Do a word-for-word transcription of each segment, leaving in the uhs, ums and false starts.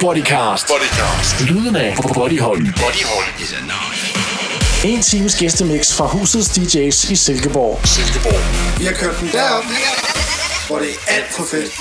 Bodycast. Bodycast. Lyden af Bodyhold. Bodyhold. En times gæstemix fra husets D J's i Silkeborg. Silkeborg. Vi har kørt den derop, hvor det er alt for fedt.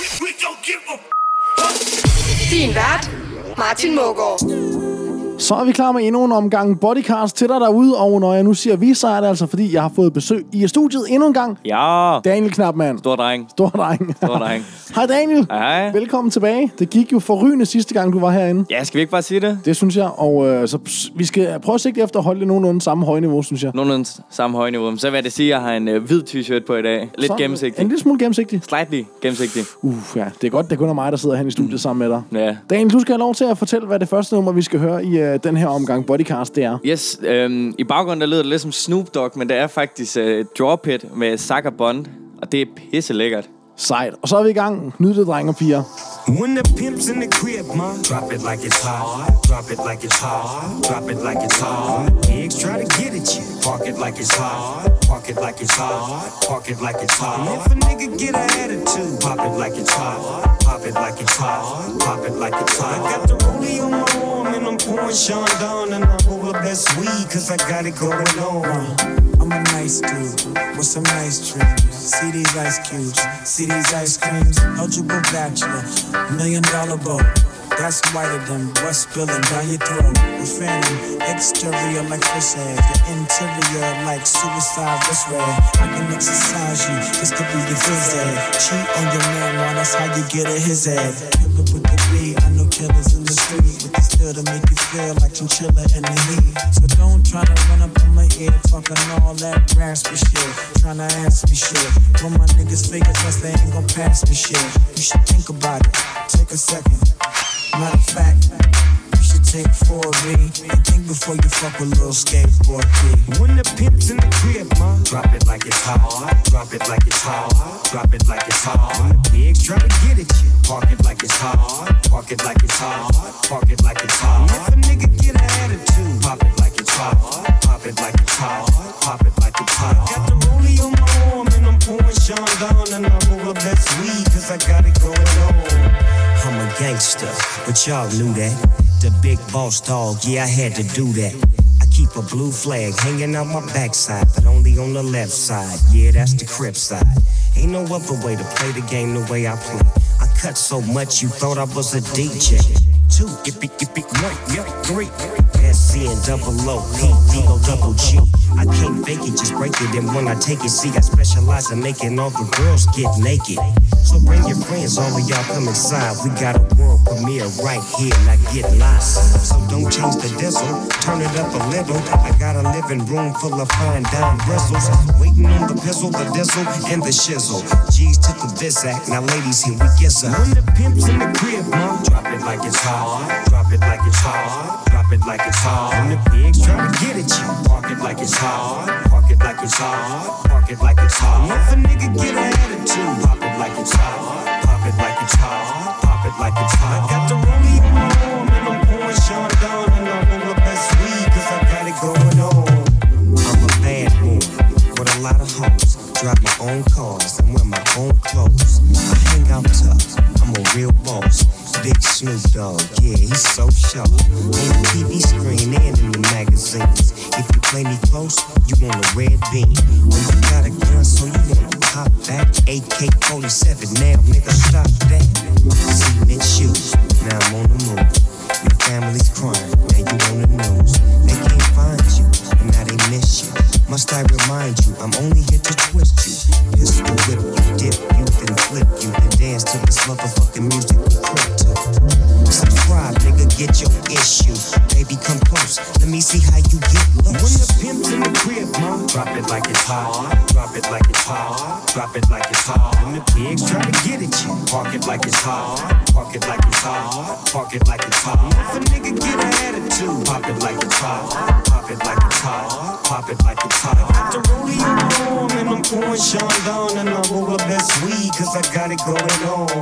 Din vært, Martin Mågaard. Så er vi klar med endnu en omgang Bodycast til dig derude. Og når jeg nu siger vi, så er det altså fordi, jeg har fået besøg i studiet endnu en gang. Ja. Daniel Knapman. Stor dreng. Stor dreng. Stor dreng. Hej Daniel. Hej. Velkommen tilbage. Det gik jo forrygende sidste gang, du var herinde. Ja, skal vi ikke bare sige det? Det synes jeg. Og øh, så vi skal prøve at sigte efter at holde det nogenlunde samme højniveau, synes jeg. Nogenlunde samme højniveau. Så vil jeg det sige, at jeg har en øh, hvid t-shirt på i dag. Lidt så, gennemsigtig. En lille smule gennemsigtig. Slightly gennemsigtig. Uh, ja. Det er godt, det kun er mig, der sidder her i studiet mm. sammen med dig. Ja. Daniel, du skal have lov til at fortælle, hvad det første nummer, vi skal høre i øh, den her omgang Bodycast, det er. Yes, øhm, i baggrunden der lyder det lidt som Snoop Dogg, men det er faktisk øh, Drop It med Saka Bond, og det er pisse lækkert. Sejt. Og så er vi i gang. Nyd det, drenge og piger. When the pimp's in the crib, ma, drop it like it's hot. Drop it like it's hot. Drop it like it's hot. Pigs try to get at you. Park it like it's hot. Park it like it's hot. Park it like it's hot. And if a nigga get an attitude, pop it like it's hot. Pop it like it's hot. Pop it like it's hot. I got the rollie on my arm and I'm pouring Sean down and I roll up that sweet cause I got it going on. I'm a nice dude with some nice dreams. See these ice cubes, see these ice creams. Eligible bachelor, million dollar boat. That's whiter than what's spilling down your throat. The phantom, exterior like fish eggs, the interior like suicide wrist red. I can exercise you, this could be your phys ed. Cheat on your man, man, that's how you get a his head. Killer with the beat, I know killers in the street with the still to make you feel like chinchilla in the heat. So don't try to run up on my ear, talking all that raspy shit, trying to ask me shit. When my niggas figure us, they ain't gon' pass me shit. You should think about it, take a second. Matter of fact, you should take four of me and think before you fuck with little skateboard kid. When the pimp's in the crib, ma, drop it like it's hot. Drop it like it's hot. Drop it like it's hot. Pigs try to get at you. Park it like it's hot. Park it like it's hot. Park it like it's hot. And if a nigga get an attitude, pop it like it's hot. Pop it like it's hot. Pop it like it's hot. Got the rollie on my arm and I'm pouring Sean down and I roll up that sweet cause I got it going on. I'm a gangster, but y'all knew that. The big boss dog, yeah, I had to do that. I keep a blue flag hanging out my backside, but only on the left side. Yeah, that's the Crip side. Ain't no other way to play the game the way I play. I cut so much you thought I was a D J. Two, ippy, ippy, one, yeah, three. S C and double O, P, D, O, double G. I can't fake it, just break it. And when I take it, see, I specialize in making all the girls get naked. So bring your friends, all of y'all come inside. We got a world premiere right here, now get lost. So don't change the diesel, turn it up a little. I got a living room full of fine dime bristles. Waiting on the pistol, the diesel, and the shizzle. G's to the Bizac, now ladies, here we get some. When the pimp's in the crib, ma, drop it like it's hot. Drop it like it's hot. Drop it like it's hot. And the pigs try to get at you. Park it like it's hot. Park it like it's hot. Park it like it's hot. And if a nigga get an attitude, pop it like it's hot. Pop it like it's hot. Pop it like it's hot. I got the rollie on my arm and I'm pouring Sean down and I roll up that sweet cause I got it going on. I'm a bad boy with a lot of hoes. Drive my own cars and wear my own clothes. I hang out tough, I'm a real boss. Big Snoop Dogg, yeah, he's so sharp. On the T V screen and in the magazines. If you play me close, you want a red beam. When you got a gun, so you want to pop back. A K forty-seven, now nigga stop that. Cement shoes, now I'm on the move. Your family's crying, now you on the news. They can't find you, and now they miss you. Must I remind you, I'm only here to twist you. Pistol whip you, dip you, then flip you, then dance to this motherfucking music with crypto. Subscribe, nigga, get your issue. Baby, come close, let me see how you get loose. When the pimp's in the crib, ma, drop it like it's hot. Drop it like it's hot. Drop it like it's hot. And the pigs try to get at you. Park it like it's hot. Park it like it's hot. Park it like it's hot. And if a nigga get an attitude, pop it like it's hot. Pop it like it's hot. Pop it like it's hot. I got the rollie on my arm and I'm pouring Sean down and I roll up that sweet cause I got it going on.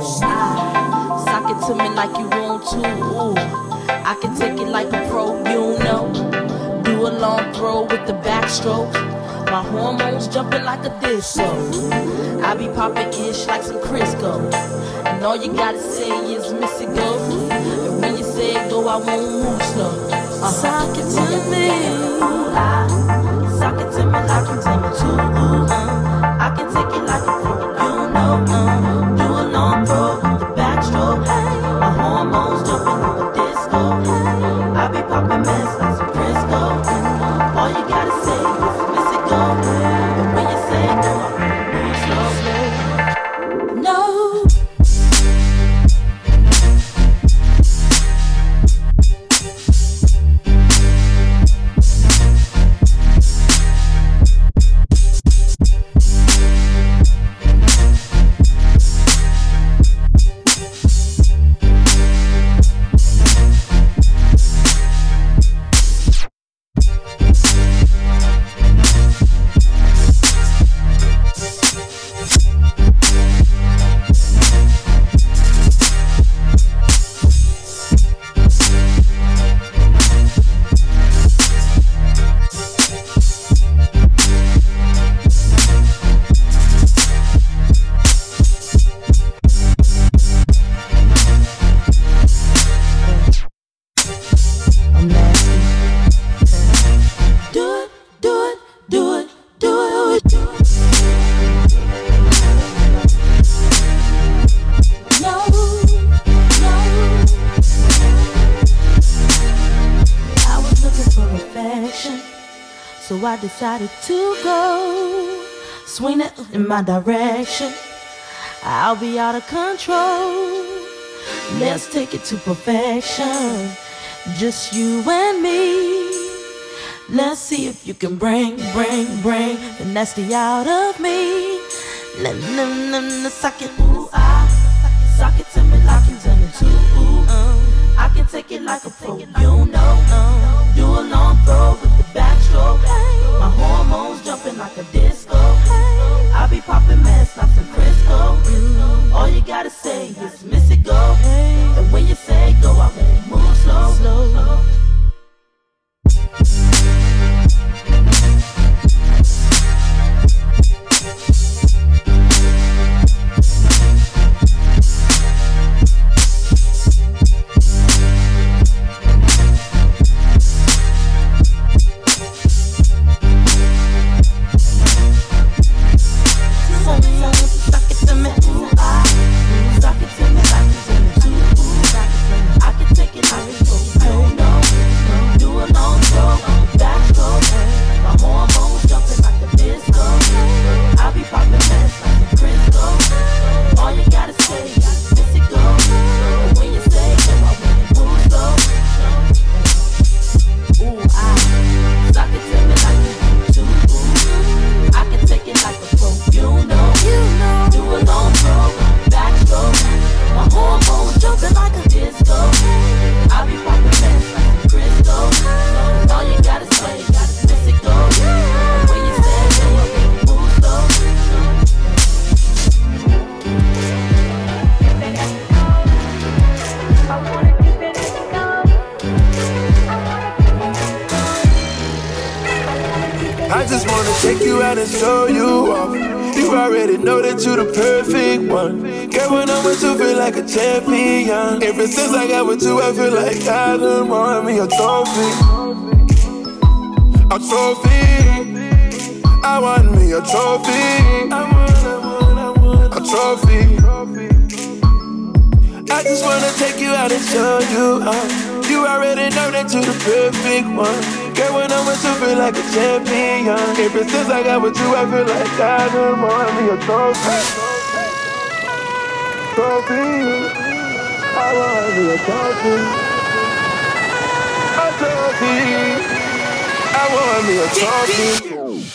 Sock it to me like you want to. Ooh. I can take it like a pro, you know. Do a long throw with the backstroke. My hormones jumping like a disco. I be popping ish like some Crisco. And all you gotta say is miss it go. And when you say go, I won't move slow. Uh-huh. Sock it to me. I, sock it to me like you take me to. Uh, I can take it like a pro. You know, uh, do a long pro with the backstroke. My hormones jumping like a disco. I be popping mess like some Crisco. All you gotta say is miss it go. And when you say go, I move slow. No. So I decided to go, swing it in my direction. I'll be out of control. Let's take it to perfection. Just you and me. Let's see if you can bring, bring, bring the nasty out of me. Let me suck it, ooh, I suck it to me like you done it too. Ooh, um, I can take it like a pro, you know. Um, do a long throw with the backstroke. My hormones jumping like a disco. I be popping mess like some Crisco. All you gotta say is miss it go. And when you say go, I won't move slow. slow. Ever since I got with you, I feel like I done won me a trophy. A trophy. I want me a trophy. I want, I want, I want a trophy. I just wanna take you out and show you how. You already know that you're the perfect one. Girl, when I'm with you, feel like a champion. Ever since I got with you, I feel like I done won me a trophy. Trophy. I want me a trophy, a trophy. I want me a trophy.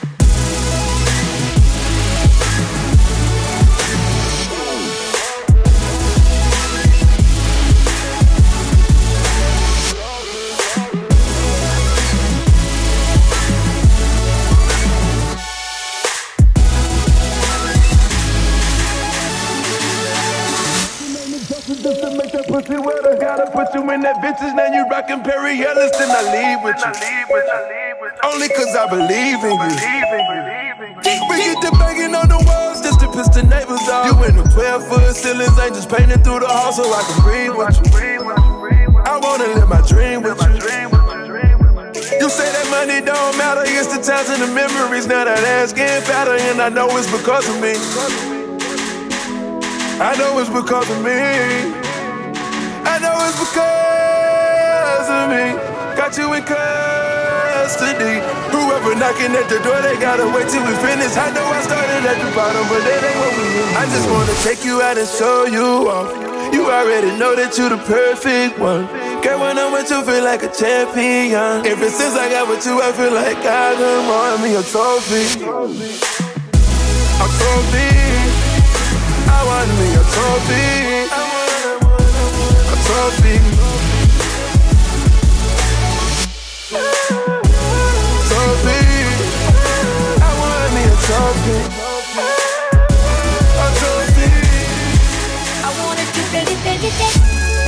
Pussy wetter, gotta put you in that vintage. Now you rockin' Perry Ellis, then I leave with you. Only cause I believe in you. We get the banging on the walls just to piss the neighbors off. You in the twelve foot ceilings, ain't just painting through the hall so I can breathe with you. I wanna live my dream with you. You say that money don't matter, it's the times and the memories. Now that ass getting fatter and I know it's because of me. I know it's because of me. I know it's because of me. Got you in custody. Whoever knocking at the door, they gotta wait till we finish. I know I started at the bottom, but that ain't what we need. I just wanna take you out and show you off. You already know that you the perfect one. Girl, when I'm with you, feel like a champion. Ever since I got with you, I feel like I done won me a trophy. A trophy. I want me a trophy. A trophy. Trophy. I want me a trophy. A trophy. I wanna do that, that, that, that.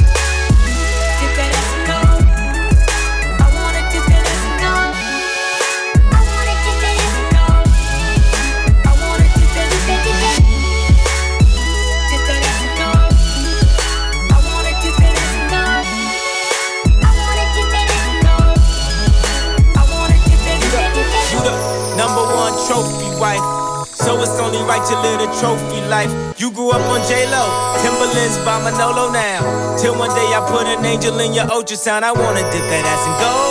Trophy wife, so it's only right to live the trophy life. You grew up on J-Lo, Timberlands by Manolo now. Till one day I put an angel in your ultrasound. I wanna dip that ass and go.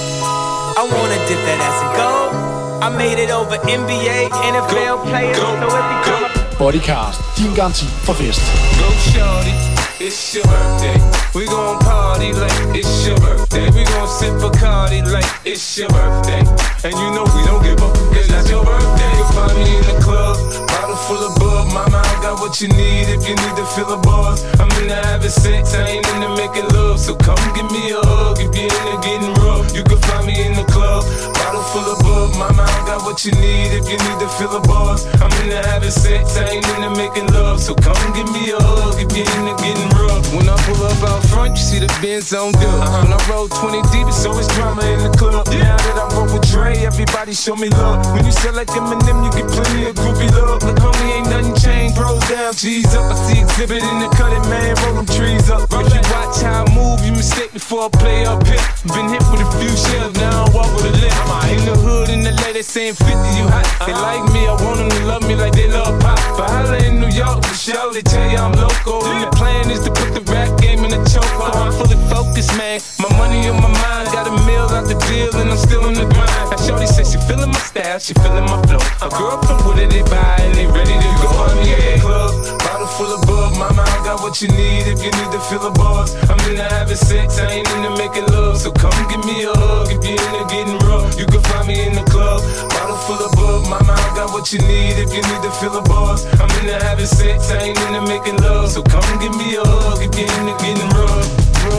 I wanna dip that ass and go. I made it over N B A, N F L players, so every time I... Bodycast, din garanti for fest. Go shorty, it's your birthday. We gon' party like it's your birthday. We gon' sip Bacardi like it's your birthday. And you know we don't give up, cause that's your birthday. You find me in the club, bottle full of bub. Mama, I got what you need if you need to fill the bars. I'm into having sex, I ain't into making love. So come give me a hug if you're into getting rough. You can find me in the club, bottle full of bub. Mama, I got what you need if you need to fill the bars. I'm into having sex, I ain't into making love. So come give me a hug if you're into getting rough. When I pull up out front, you see the Benz on dubs. Uh-huh. When I roll twenty deep, it's always drama in the club. Yeah. Now that I roll with Dre, everybody show me love. When you sell like Eminem, you get plenty of groupie love. Look, homie, ain't nothing changed. Bros down, G's up. I see exhibit in the cutting, man. Roll them trees up. If you watch how I move, you mistake before I play up here. Been hit with a few shells, now I walk with a limp. In the hood, in the lady saying fifty, you hot. They like me, I want them to love me like they love pop. But holla in New York, for sure, they tell you I'm local. And the plan is to put the rap game in a choke. I'm fully focused, man. My money on my mind, got a meal out the deal, and I'm still in the grind. Now shorty says she feeling my style, she feeling my flow. A girl from Wooded, they buy and they ready to go. Find me in the club, bottle full of bub. Mama, I got what you need if you need to fill the bars. I'm into having sex, I ain't into making love. So come give me a hug if you're into getting rough. You can find me in the club, bottle full of bub. Mama, I got what you need if you need to fill the bars. I'm into having sex, I ain't into making love. So come give me a hug if you're into getting rough.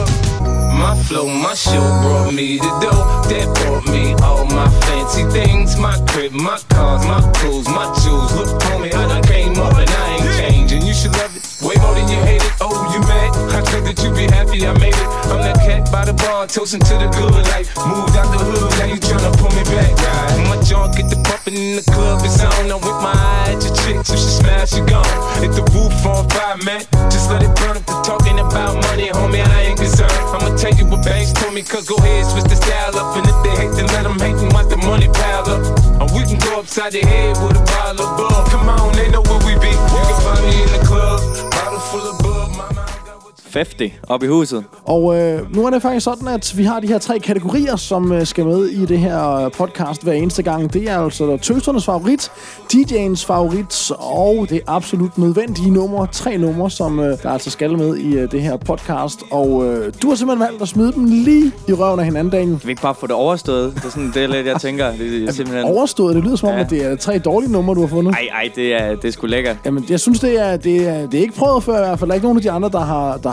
My flow, my show brought me the dough that brought me all my fancy things. My crib, my cars, my clothes, my jewels. Look, homie, I done came up and I ain't changing. You should love it way more than you hate it. Oh, you mad? I thought that you be happy I made it. I'm that cat by the bar, toasting to the good life. Moved out the hood, now you tryna pull me back. Right? My junk get the bumping in the club, it's on. I'm with my eye at your chick, so she smash, she gone. Hit the roof on fire, man. Just let it burn if they're talking about money, homie, I ain't concerned. I'ma tell you what banks told me, cause go ahead, switch the style up. And if they hate, then let them hate and watch the money pile up. And we can go upside the head with a bottle of bug. Come on, they know where we be. You can find me in the club, bottle full of bug. Mama, halvtreds op i huset. Og øh, nu er det faktisk sådan, at vi har de her tre kategorier, som øh, skal med i det her podcast hver eneste gang. Det er altså tøsernes favorit, D J'ens favorit og det absolut nødvendige nummer. Tre numre, som øh, der altså skal med i øh, det her podcast. Og øh, du har simpelthen valgt at smide dem lige i røven af hinanden, Daniel. Kan vi ikke bare få det overstået? Det er sådan det er lidt, jeg tænker. Det er simpelthen... Overstået? Det lyder som om, ja. At det er tre dårlige numre, du har fundet. Ej, ej, det er, det er sgu lækkert. Jamen, jeg synes, det er, det er, det er ikke prøvet før i hvert fald. Der er ikke nogen af de andre, der har, der har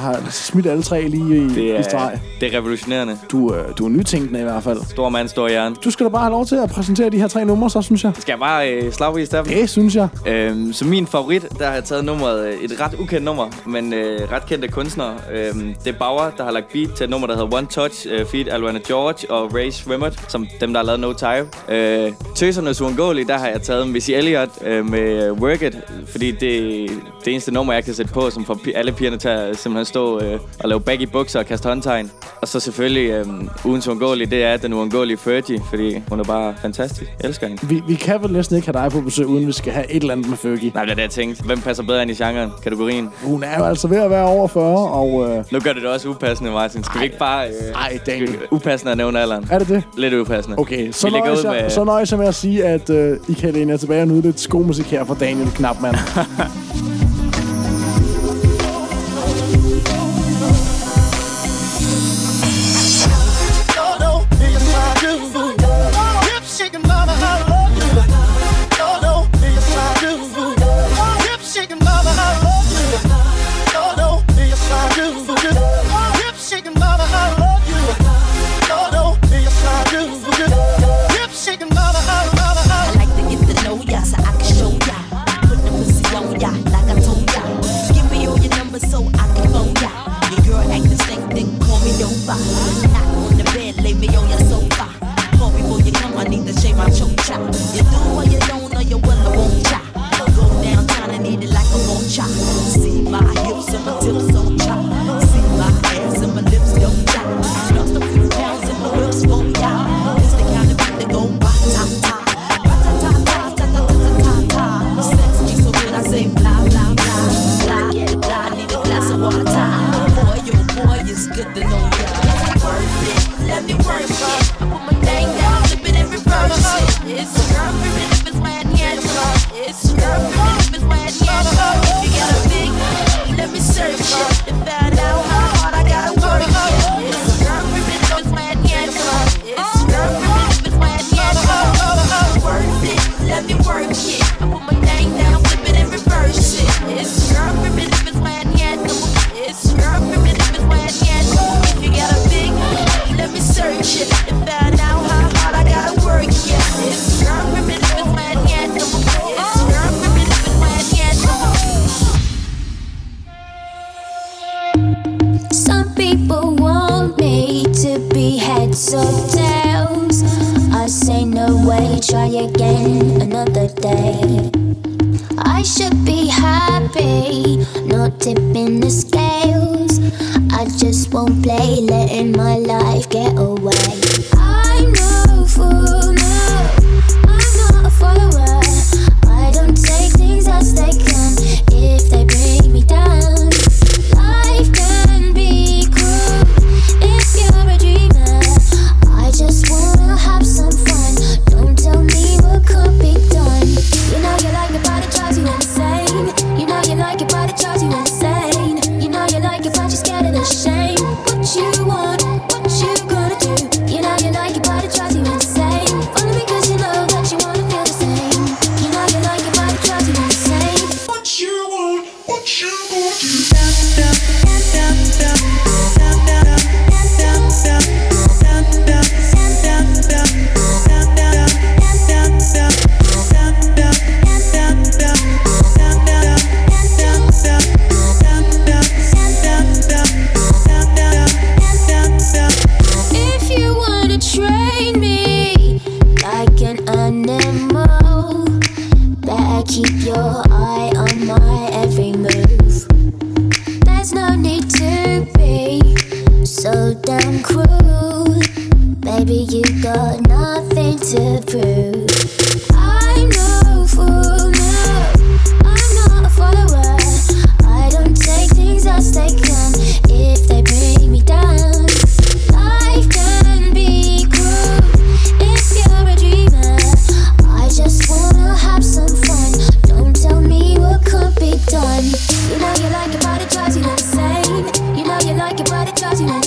har smidt alle tre lige i, det er, i streg. Det er revolutionerende. Du, øh, du er nytænkende i hvert fald. Stor mand, stor hjerne. Du skal da bare have lov til at præsentere de her tre numre, så synes jeg. Skal jeg bare øh, slagvis der? Det synes jeg. Øhm, som min favorit, der har jeg taget nummeret, et ret ukendt nummer, men øh, ret kendte kunstnere. Øhm, det er Bauer, der har lagt beat til et nummer, der hedder One Touch, øh, feat. Alwana George og Ray Swimmert, som dem, der har lavet No Time. Øh, Tøsernes Uundgåelige, der har jeg taget Missy Elliott øh, med Work It, fordi det er det eneste nummer, jeg kan sætte på, som får alle pigerne til at simpelthen stå øh, og lave baggy bukser og kaste håndtegn. Og så selvfølgelig øh, ugens uundgåelige, det er den uundgåelige Fergie, fordi hun er bare fantastisk. Jeg elsker hende. Vi, vi kan vel næsten ikke have dig på besøg, uden vi skal have et eller andet med Fergie. Nej, det er det, jeg tænkte. Hvem passer bedre ind i genren, kategorien? Hun er jo altså ved at være over fyrre, og... Øh... Nu gør det det også upassende, Martin. Skal ej, vi ikke bare... Øh, Ej, Daniel. Upassende at nævne alderen. Er det det? Lidt upassende. Okay, så nøjes jeg, med... så nøjes jeg med at sige, at øh, I kan læne jer tilbage og nyde lidt skomusik her fra Daniel Knapman.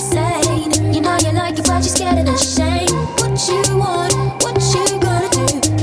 Just scared of the shame. What you want, what you gonna do?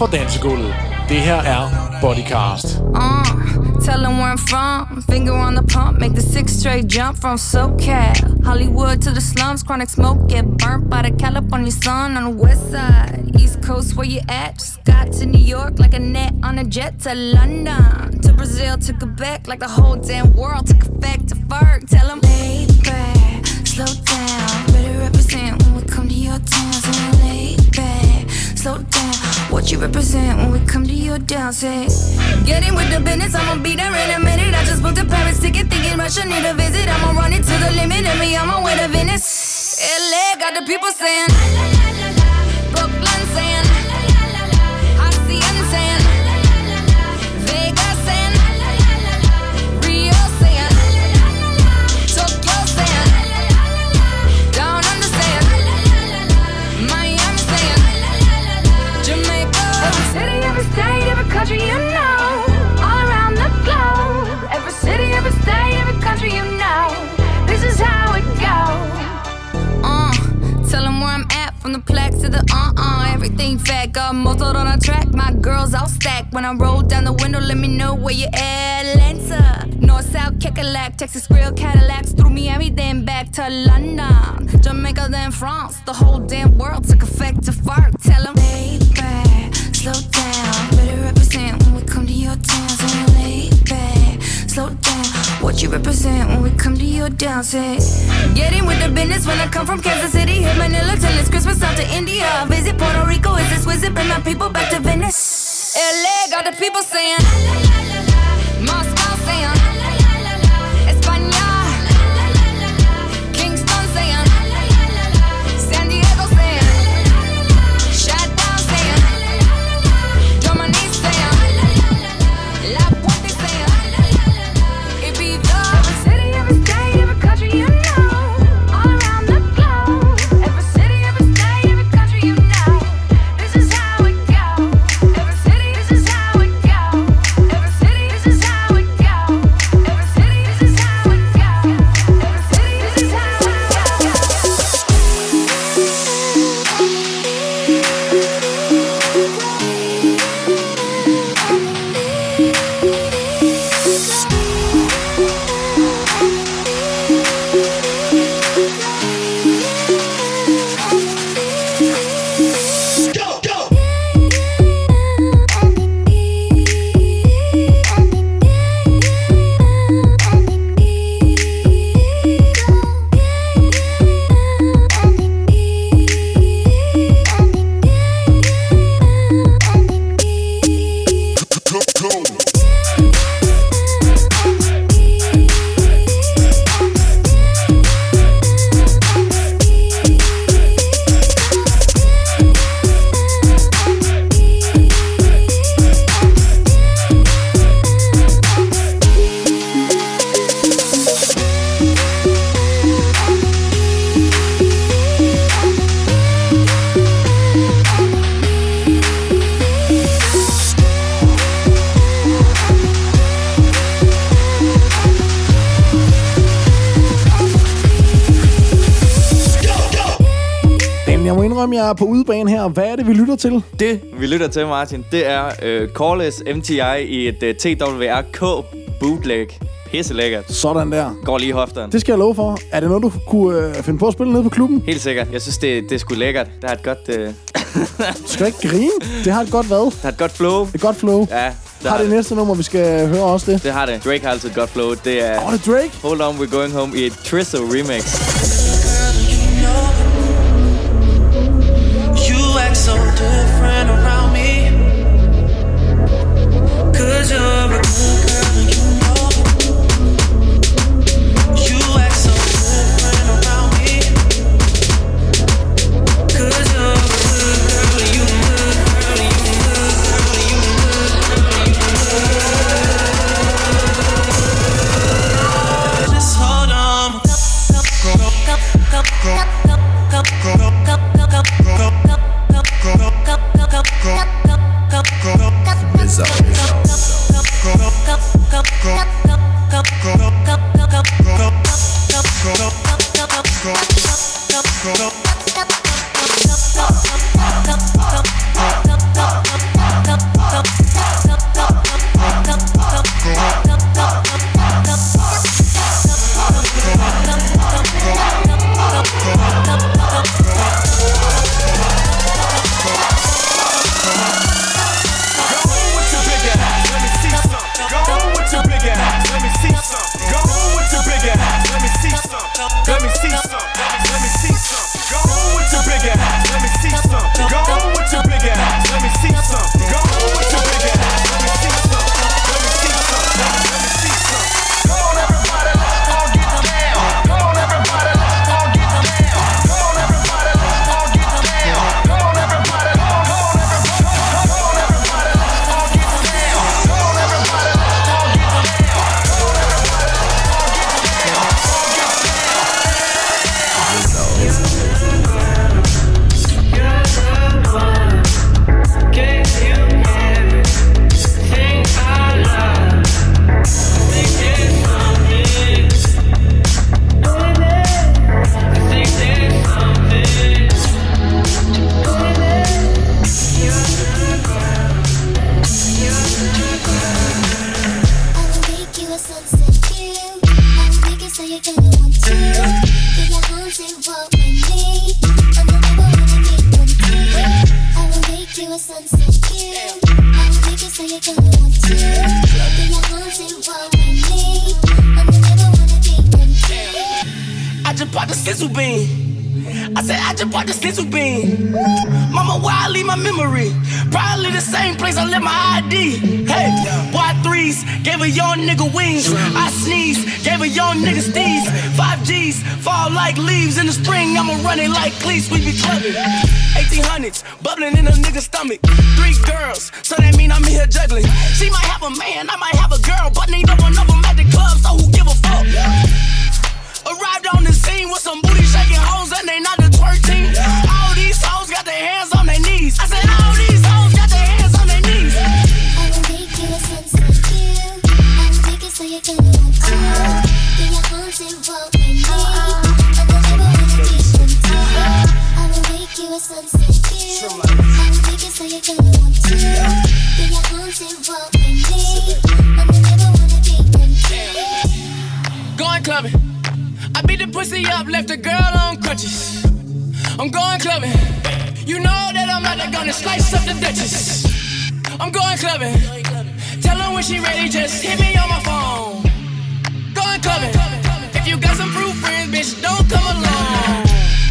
for dansegulvet. Det her er Bodycast. Uh, tell them where I'm from. Finger on the pump, make the six straight jump from SoCal. Hollywood to the slums, chronic smoke, get burnt by the California sun on the west side. East Coast, where you at? Just got to New York like a net on a jet to London. To Brazil, to Quebec, like the whole damn world took effect to Ferg. Tell them, lay back, slow down. Better represent when we come to your town. So lay back, slow down. What you represent when we come to your down, say. Get in with the business, I'ma be there in a minute. I just booked a Paris ticket, thinking Russia need a visit. I'ma run it to the limit, and me on my way to Venice. L A got the people saying, Brooklyn saying, Hacienda saying, Vegas saying, Rio saying, Tokyo saying, Down Under saying, Miami saying, Jamaica. Every city, every state, every country you know, all around the globe. Every city, every state, every country you know, this is how it goes. Uh, tell them where I'm at, from the plaques to the uh-uh. Everything fat, got muzzled on a track. My girls all stacked. When I roll down the window, let me know where you at. Atlanta, North, South, Kekalak, Texas Grill, Cadillacs. Through Miami, then back to London. Jamaica, then France. The whole damn world took effect to fart. Tell them, lay back, slow down. Better represent when we come to your town. So lay back, slow down. What you represent when we come to your down, say. Get in with the business when I come from Kansas City. Hit Manila till it's Christmas, out to India. Visit Puerto Rico, is this wizard? Bring my people back to Venice. L A got the people saying, Moscow saying, España, Kingston saying, San Diego saying, Shutdown saying, Germany saying, La Puente saying, Ibiza. Every city, every state, every country you know, all around the globe. Every city, every state, every country you know, this is how it goes. Every city, this is how it goes. Every city, this is how it goes. Every city, this is how it goes. Every city, this is how it Jeg er på udebane her. Hvad er det, vi lytter til? Det, vi lytter til, Martin, det er uh, Coreless M T I i et uh, T W R K bootleg. Pisse lækkert. Sådan der. Går lige i hofterne. Det skal jeg love for. Er det noget, du kunne øh, finde på at spille nede på klubben? Helt sikkert. Jeg synes, det, det er sgu lækkert. Det har et godt... Øh... Du skal ikke grine. Det har et godt hvad? Det har et godt flow. Et godt flow. Ja. Det har det, det næste nummer, vi skal høre også det? Det har det. Drake har altid et godt flow. Det er... Åh, oh, det er Drake? Hold On, We're Going Home i et Trizzo remix. So different around me, 'cause you're a good girl and you know it. You act so different around me, 'cause you're a good girl and you good girl and you good girl and you good girl. Just hold on. Rizzo. I just bought the sizzle bean. I said I just bought the sizzle bean. Mama, where I leave my memory? Probably the same place I left my I D. Hey, Y threes gave a young nigga wings. I sneeze, gave a young nigga steez. Five G's fall like leaves in the spring. I'ma run it like cleats, we be clubbing. eighteen hundreds bubbling in a nigga's stomach. Three girls, so that mean I'm here juggling. She might have a man, I might have a girl, but neither one of them at the club, so who give a fuck? Arrived on the scene with some booty shaking hoes and they not the twerk team. All these hoes got their hands on their knees. I said all these hoes got their hands on their knees. I will make you a sunset view. I will make it so you can want to. Then your arms involve with me. And the never wanna be content. I will make you a sunset view. I will make it so you can want to. Then your arms involve with me. And the never wanna be content. Going clubbing. I beat the pussy up, left the girl on crutches. I'm going clubbing. You know that I'm out there gonna slice up the Duchess. I'm going clubbing. Tell her when she ready, just hit me on my phone. Going clubbing. If you got some fruit friends, bitch, don't come along.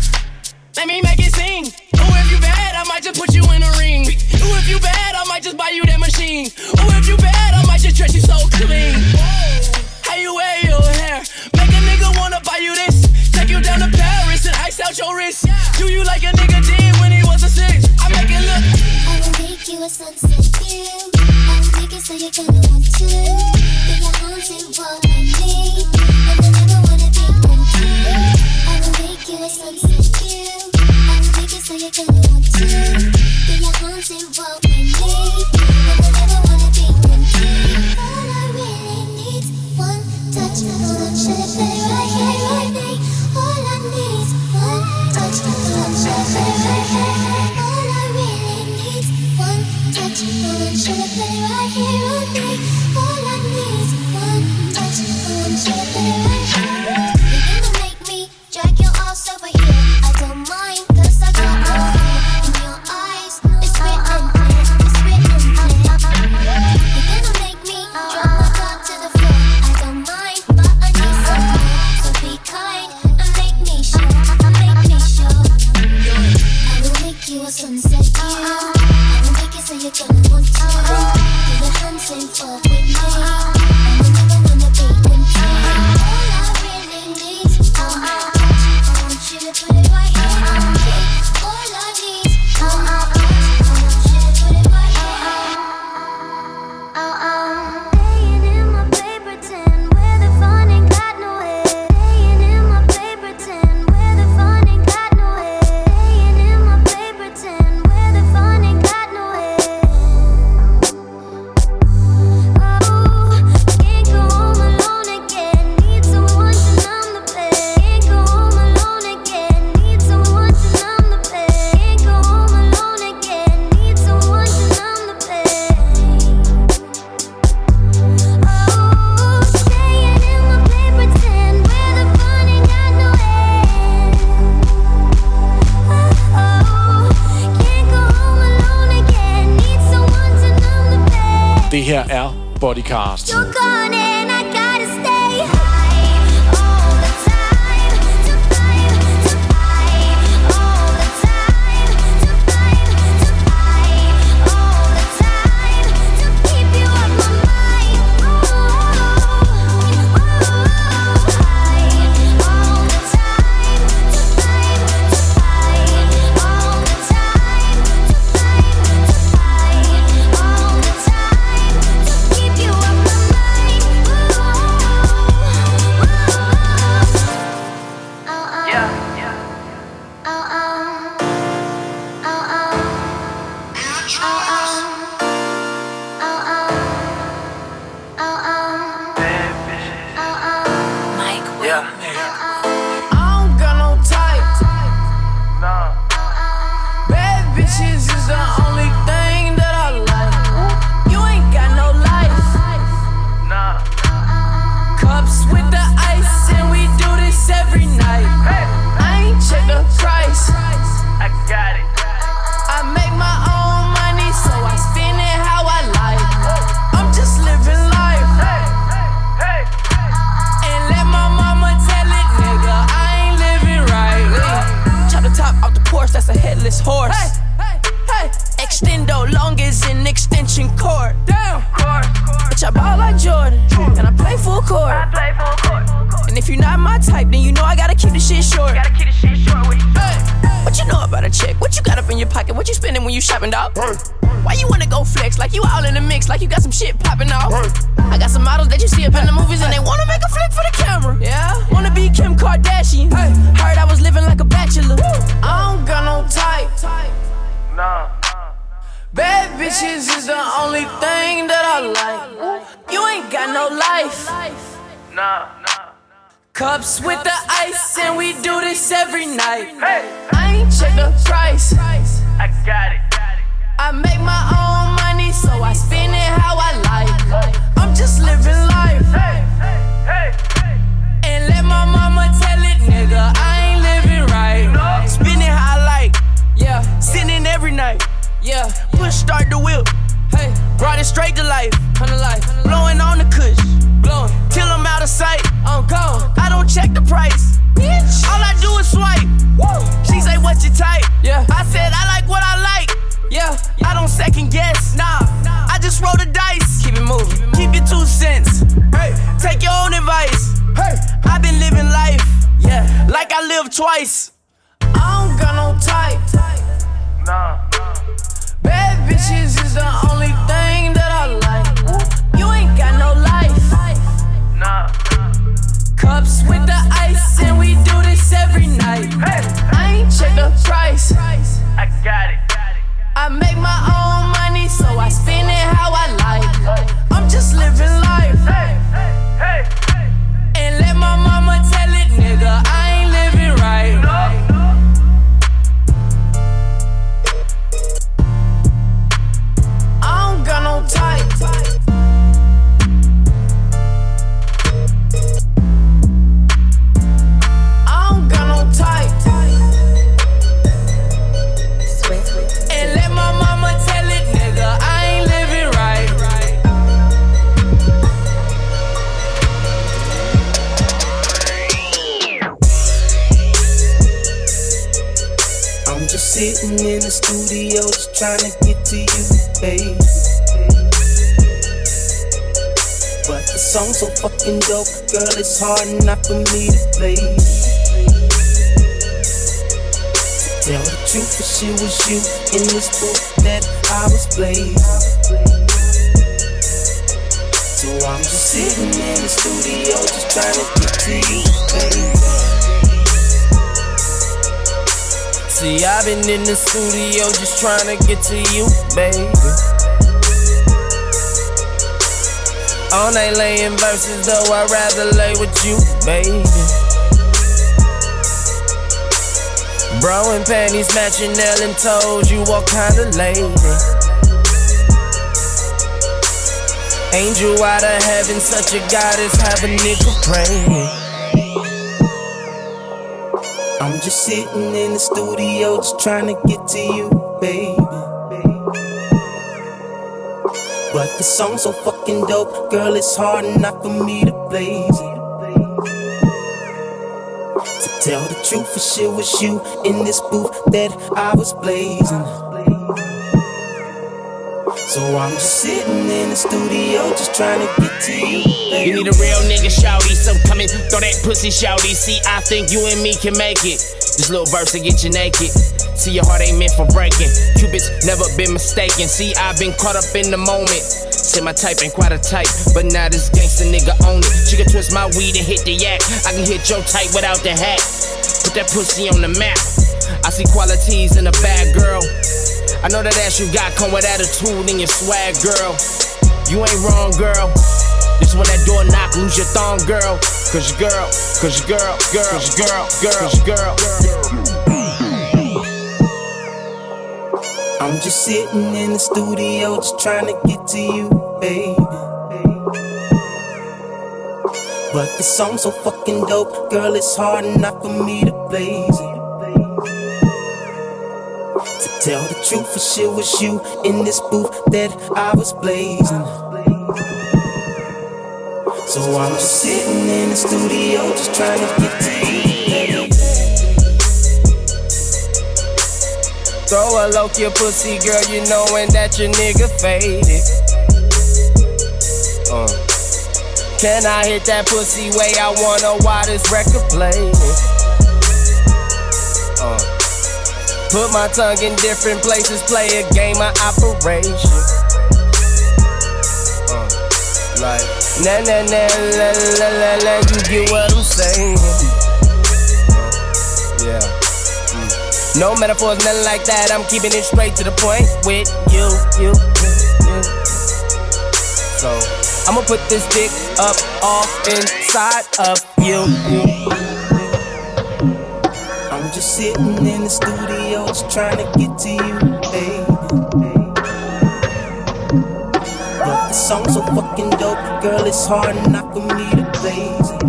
Let me make it sing. Ooh, if you bad, I might just put you in a ring. Ooh, if you bad, I might just buy you that machine. Ooh, if you bad, I might just dress you so clean. How you wear your hair? Make a nigga wanna buy you this. Take you down to Paris and ice out your wrist. Do you like a nigga did when he was a six? I make it look. I will make you a sunset view. I will make it so you're gonna want to. Then your arms involve with me. And I never wanna be content. I will make you a sunset view. I will make it so you're gonna want to. Then your arms involve with me. And I never wanna be content. All I really need one touch, one should play right here, right now. All I need one touch, one should play right here. All I really need one touch, one should play right here, right now. All I need one touch, one should play right here. You're gonna make me drag your ass over here. I don't mind, 'cause I got love in your eyes. It's written, it's written. You're gonna make me drop my guard to the floor. I don't mind, but I need some more. So be kind and make me sure, make me sure. I will make you a sunset view. I will make it so you're gonna want to. Put your hands in for with me. I will never wanna be content. All I really need is one touch. I want you to put it right here on me. All I need is one touch. I want you to put it right here. Oh, oh. Laying in my paper tin where the fun ain't got no head. Laying in my paper tin where the fun ain't got no head. Laying in my paper tin where the fun ain't got no head. Oh, can't go home alone again. Need someone to numb the pain. Can't go home alone again. Need someone to numb the pain. Can't go home alone again. Need someone to numb the pain. Oh, staying in my paper tin where the fun ain't got no end. Oh, can't go home alone again. Need someone to numb the pain. Det her er Bodycast. You're gone and I gotta stay high all the time. To climb, to climb all the time. To climb, to climb all the time. To keep you on my mind. Oh, oh, high all the time. To climb, to climb all the time. To climb, to climb all the time. To keep you on my mind. horse. Hey, hey, hey. Extendo long as an extension cord. Damn. Bitch, I ball like Jordan, and I play full court. I play full court. And if you're not my type, then you know I gotta keep the shit short. Gotta keep the shit short with you. Hey. What you know about a chick? What you got up in your pocket? What you spending when you shopping, dog? Hey. Why you wanna go flex? Like you all in the mix, like you got some shit popping off. Hey. I got some models that you see up in the movies and they wanna make a flick for the camera. Yeah, wanna be Kim Kardashian. Hey. Heard I was living like a bachelor. Woo. I don't got no type. Nah. Bad bitches is the only thing that I like. You ain't got no life. Nah. Cups with the ice and we do this every night. Hey. I ain't check the price. I got it. I make my own money, so I spend it how I like. I'm just living life. And let my mama tell it, nigga, I ain't living right. Spend it how I like. Yeah, sitting every night. Yeah, push start the whip. Hey, brought it straight to life. life. Blowing on the kush. Blowing till I'm out of sight. I'm gone. I don't check the price. Bitch. All I do is swipe. Woo. She say, what you type? Yeah. I said, I like what I like. Yeah, I don't second guess. Nah, I just roll the dice. Keep it moving. Keep your two cents. Hey, take your own advice. Hey, I've been living life. Yeah, like I live twice. I don't got no type. Nah. Bad bitches is the only thing that I like. You ain't got no life. Nah. Cups with the ice and we do this every night. I ain't check the price. I got it. I make my own money, so I spend it how I like. I'm just living life. And let my mama tell it, nigga, I ain't living right. I don't got no type. I don't got no type. And let my mama tell it, nigga, I ain't living right. I'm just sitting in the studio just trying to get to you, babe. But the song's so fucking dope, girl, it's hard enough for me to play. Tell the truth, for sure was you in this book that I was playing. So I'm just sitting in the studio just trying to get to you, baby. See, I've been in the studio just trying to get to you, baby. All night laying verses, though I'd rather lay with you, baby. Bro and panties matching nail and toes, you what kind of lady? Angel out of heaven, such a goddess, have a nigga praying. I'm just sitting in the studio just trying to get to you, baby. But the song's so fucking dope, girl, it's hard enough for me to blaze it. To tell the truth, for sure was you in this booth that I was blazing. So I'm just sitting in the studio just trying to get to you, baby. You need a real nigga, shawty, so come and throw that pussy, shawty. See, I think you and me can make it. This little verse to get you naked. See, your heart ain't meant for breaking. Cupid's never been mistaken. See, I've been caught up in the moment. Say my type ain't quite a type, but now this gangsta nigga own it. She can twist my weed and hit the yak. I can hit your type without the hat. Put that pussy on the map. I see qualities in a bad girl. I know that ass you got come with attitude and your swag, girl. You ain't wrong, girl. This when that door knock, lose your thong, girl. Cause your girl, cause your girl, girl, cause your girl, girl, cause your girl, girl. I'm just sitting in the studio just trying to get to you, baby. But the song's so fucking dope, girl, it's hard enough for me to blaze it. To tell the truth, for sure was you in this booth that I was blazing. So I'm just sitting in the studio just trying to get to you, baby. Throw a low your pussy, girl, you knowin' that your nigga faded. Uh. Can I hit that pussy way I wanna while this record playing? Uh. Put my tongue in different places, play a game of operation. Uh. Like, na na na la la la la, you get what I'm saying? Uh. Yeah. No metaphors, nothing like that. I'm keeping it straight to the point with you, you, you, you. So I'ma put this dick up off inside of you. I'm just sitting in the studio, just trying to get to you, baby. But the song's so fucking dope, girl, it's hard not for me to blaze it.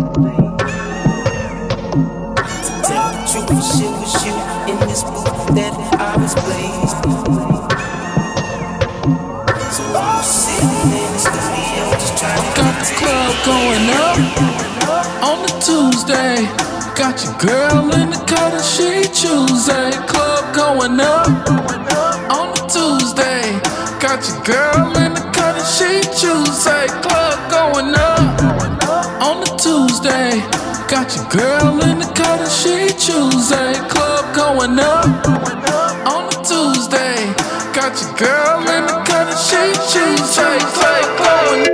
To tell the truth, it shit was you in this booth that I was blazed. So I'm sitting in the studio just trying to got the club going up on the Tuesday. Got your girl in the cut and she Tuesday. Club going up on the Tuesday. Got your girl in the cut and she Tuesday. Club going up on the Tuesday. Got your girl in the cut and she Tuesday. Club going up on the Tuesday. Got your girl in the cut and she Tuesday. Club going up.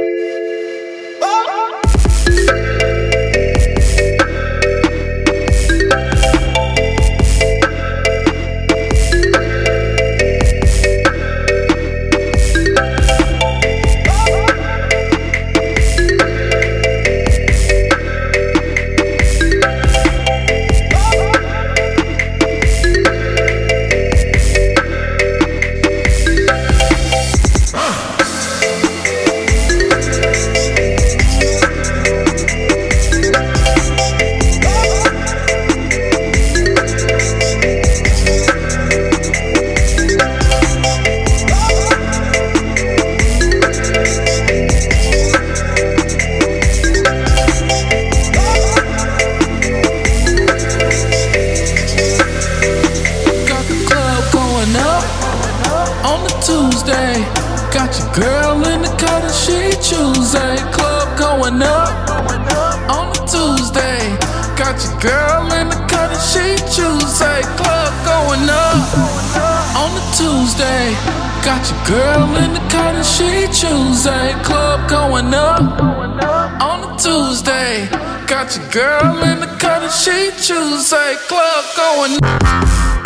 Got your girl in the cut and she Tuesday. Club going up on a Tuesday. Got your girl in the cut and she Tuesday. Club going up.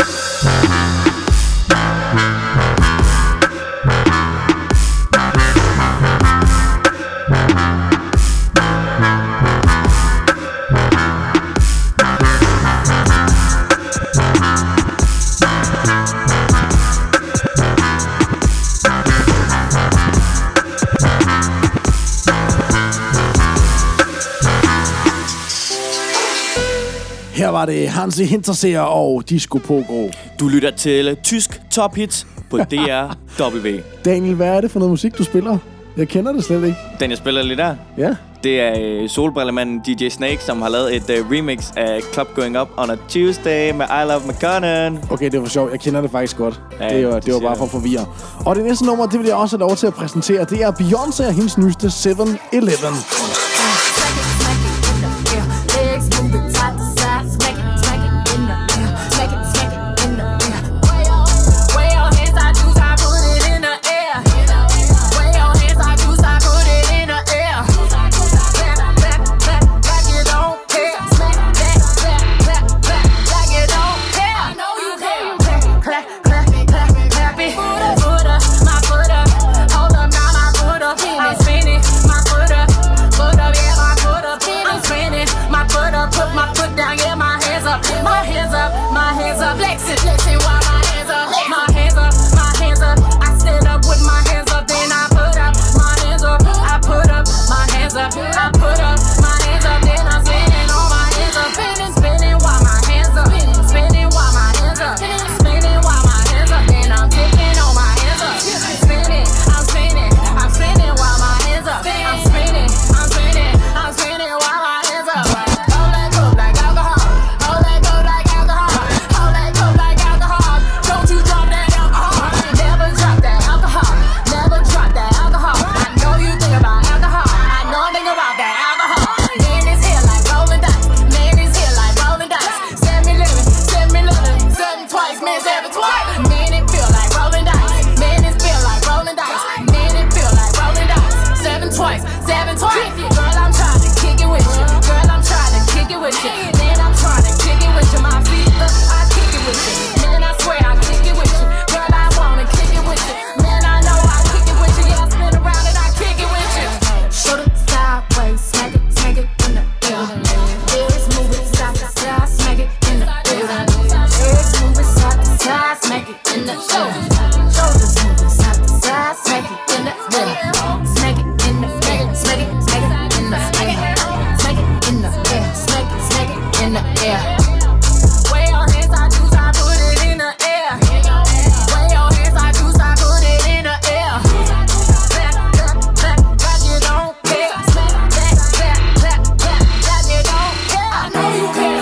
Her var det Hansi Hinterseer og Disco Pogo. Du lytter til Tysk Top Hits på D R W. Daniel, hvad er det for noget musik, du spiller? Jeg kender det slet ikke. Den, jeg spiller lige der? Ja. Det er uh, solbrillemanden D J Snake, som har lavet et uh, remix af Club Going Up on a Tuesday med I Love McConaughey. Okay, det var sjovt. Jeg kender det faktisk godt. Ja, det var, det var bare for at forvirre. Og det næste nummer, det vil jeg også have lov til at præsentere. Det er Beyoncé og hendes nyeste seven eleven. Put seven twenty. Girl, I'm trying to kick it with you. Girl, I'm trying to kick it with you. Man, I'm trying to kick it with you. My feet up, I kick it with you. Man, I swear I kick it with you. Girl, I wanna kick it with you. Man, I know I kick it with you. Yeah, I spin around and I kick it with you. Shoulder sideways, smack it, smack it in the air. Legs moving side to side, smack it in the air. Legs moving side to side, smack it in the air. Shoulders moving side to side, smack it in the air. Smack it in the air, smack it, smack it in the air. Smack it in the air, smack it, smack it in the air. Wave your hands, I choose, I put it in the air. Wave your hands, I choose, I put it in the air. Clap, clap, clap, like you don't care. Clap, clap, clap, clap, clap, like you don't care. I know you care.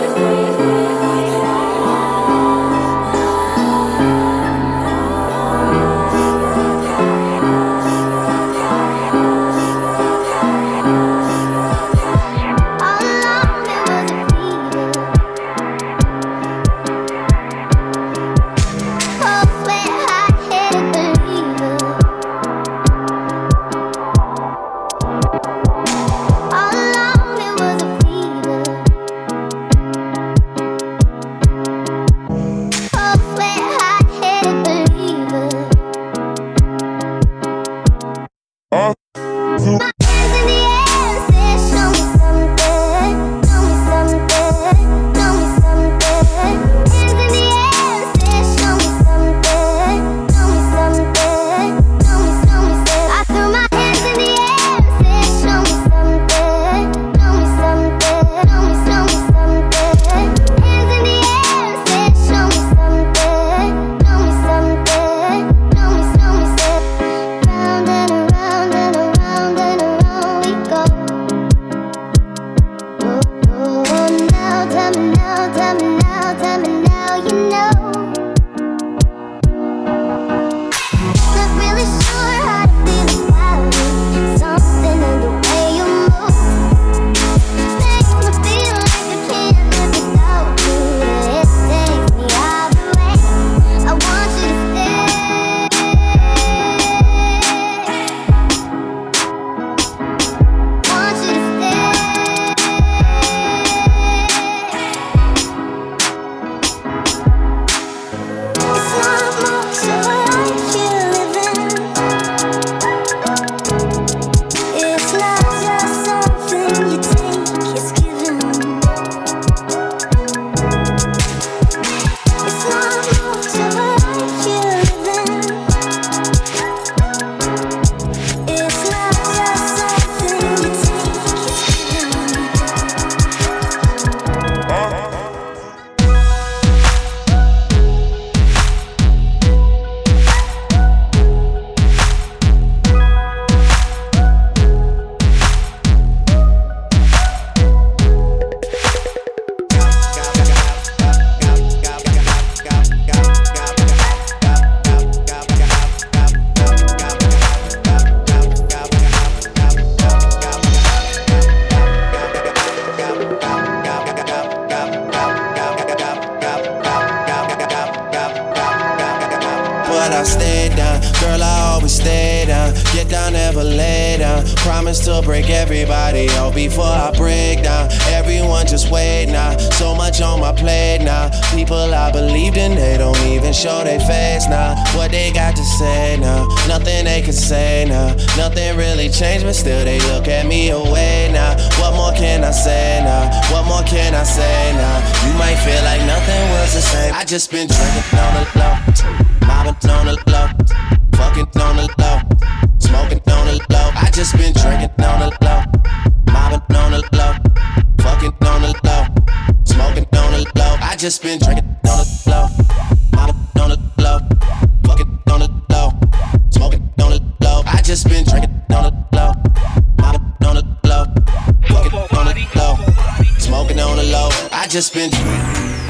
I stay down. Girl, I always stay down. Get down, never lay down. Promise to break everybody out before I break down. Everyone just wait now. So much on my plate now. People I believed in, they don't even show their face now. What they got to say now? Nothing they can say now. Nothing really changed, but still they look at me away now. What more can I say now? What more can I say now? You might feel like nothing was the same. I just been drinking on the low, mobbing on the low, fucking on the low, smoking on the low. I just been drinking on the low, mobbing on the low, fucking on the low, smoking on the low. I just been drinking on the low, mobbing on the low, fucking on the low, smoking on the low. I just been drinking on the low, mobbing on the low, fucking on the low, smoking on the low. I just been.